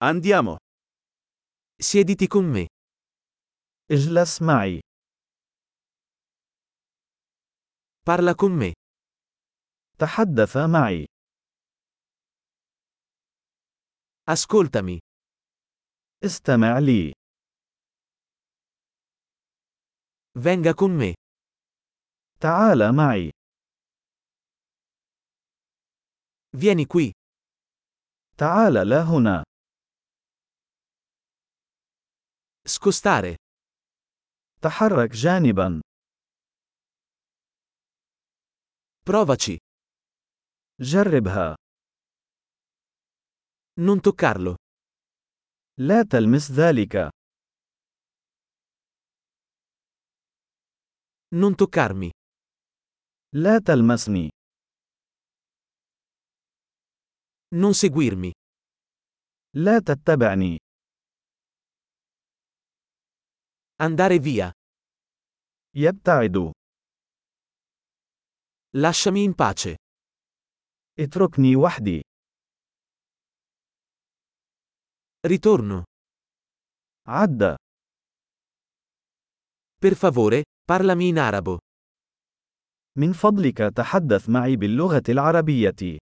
Andiamo. Siediti con me. اجلس معي. Parla con me. تحدث معي. Ascoltami. استمع لي. Venga con me. تعال معي. Vieni qui. تعال لا هنا. Scostare. تحرك جانبا. Provaci. جربها. Non toccarlo. لا تلمس ذلك. Non toccarmi. لا تلمسني. Non seguirmi. لا تتبعني. Andare via. يبتعد. Lasciami in pace. اتركني وحدي. Ritorno. عد. Per favore, parlami in arabo. من فضلك تحدث معي باللغة العربية.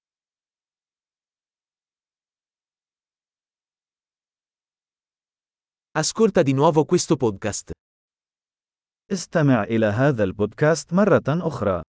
Ascolta di nuovo questo podcast. استمع إلى هذا البودكاست مرة أخرى.